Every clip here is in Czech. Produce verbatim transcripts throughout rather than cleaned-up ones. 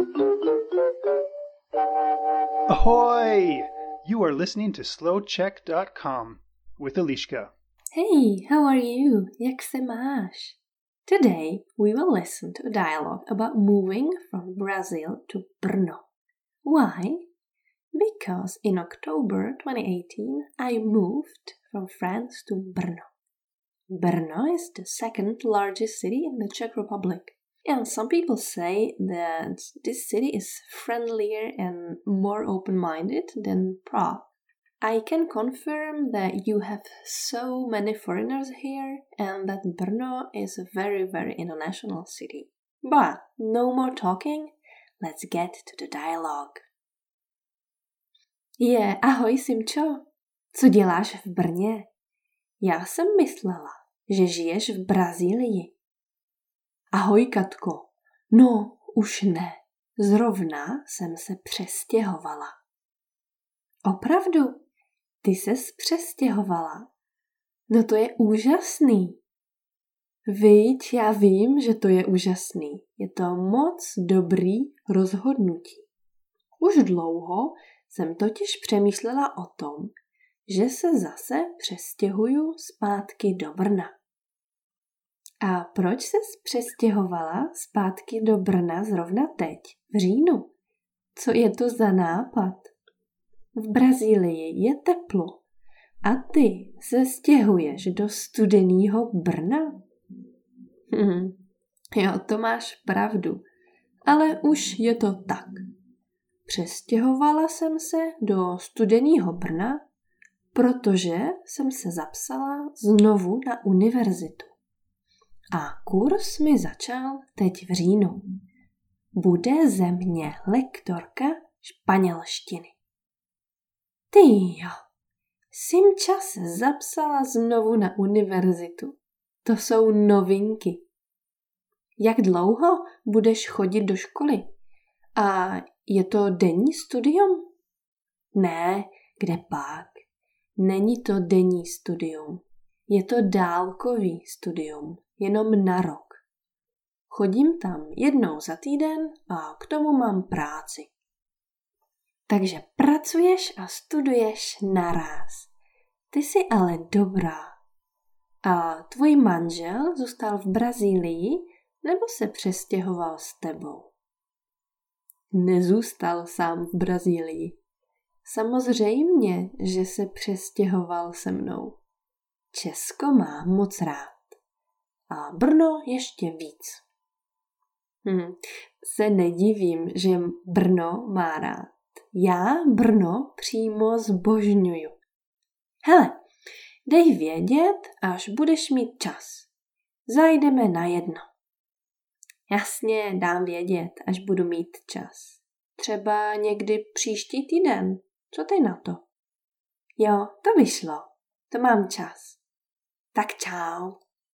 Ahoy! You are listening to slow check dot com with Eliška. Hey, how are you? Jak se máš? Today we will listen to a dialogue about moving from Brazil to Brno. Why? Because in October twenty eighteen I moved from France to Brno. Brno is the second largest city in the Czech Republic. And some people say that this city is friendlier and more open-minded than Prague. I can confirm that you have so many foreigners here and that Brno is a very, very international city. But no more talking, let's get to the dialogue. Je, yeah, ahoj Simčo, co děláš v Brně? Já jsem myslela, že žiješ v Brazílii. Ahoj Katko, no už ne, zrovna jsem se přestěhovala. Opravdu? Ty ses přestěhovala? No to je úžasný. Viď, já vím, že to je úžasný. Je to moc dobrý rozhodnutí. Už dlouho jsem totiž přemýšlela o tom, že se zase přestěhuju zpátky do Brna. A proč ses přestěhovala zpátky do Brna zrovna teď, v říjnu? Co je to za nápad? V Brazílii je teplo a ty se stěhuješ do studeného Brna? Hm, jo, to máš pravdu, ale už je to tak. Přestěhovala jsem se do studeného Brna, protože jsem se zapsala znovu na univerzitu. A kurz mi začal teď v říjnu. Bude ze mě lektorka španělštiny. Ty jo, Simča se zapsala znovu na univerzitu. To jsou novinky. Jak dlouho budeš chodit do školy? A je to denní studium? Ne, kde pak? Není to denní studium. Je to dálkový studium, jenom na rok. Chodím tam jednou za týden a k tomu mám práci. Takže pracuješ a studuješ naráz. Ty jsi ale dobrá. A tvůj manžel zůstal v Brazílii nebo se přestěhoval s tebou? Nezůstal sám v Brazílii. Samozřejmě, že se přestěhoval se mnou. Česko má moc rád. A Brno ještě víc. Hm, se nedivím, že Brno má rád. Já Brno přímo zbožňuju. Hele, dej vědět, až budeš mít čas. Zajdeme na jedno. Jasně, dám vědět, až budu mít čas. Třeba někdy příští týden. Co ty na to? Jo, to vyšlo. To mám čas. Tak čau.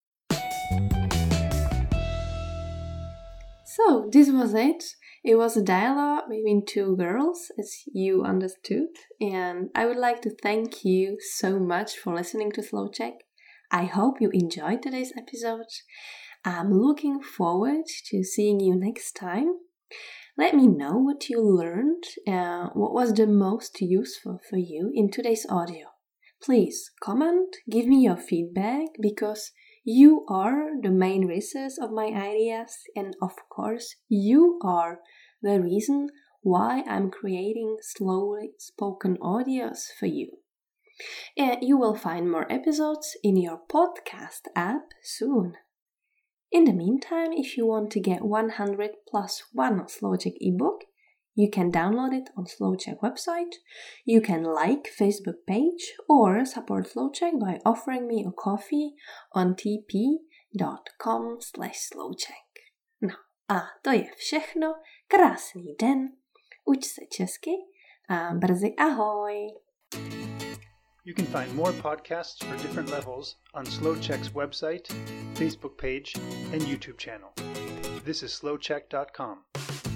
So, this was it. It was a dialogue between two girls, as you understood, and I would like to thank you so much for listening to Slow Check. I hope you enjoyed today's episode. I'm looking forward to seeing you next time. Let me know what you learned, uh, what was the most useful for you in today's audio. Please comment, give me your feedback, because you are the main resource of my ideas, and of course, you are the reason why I'm creating slowly spoken audios for you. And you will find more episodes in your podcast app soon. In the meantime, if you want to get one hundred plus one SlowCheck ebook, you can download it on SlowCheck website, you can like Facebook page, or support SlowCheck by offering me a coffee on tp.com slash slowcheck. No a to je všechno, krásný den, uč se česky a brzy ahoj! You can find more podcasts for different levels on SlowCheck's website, Facebook page, and YouTube channel. This is slow check dot com.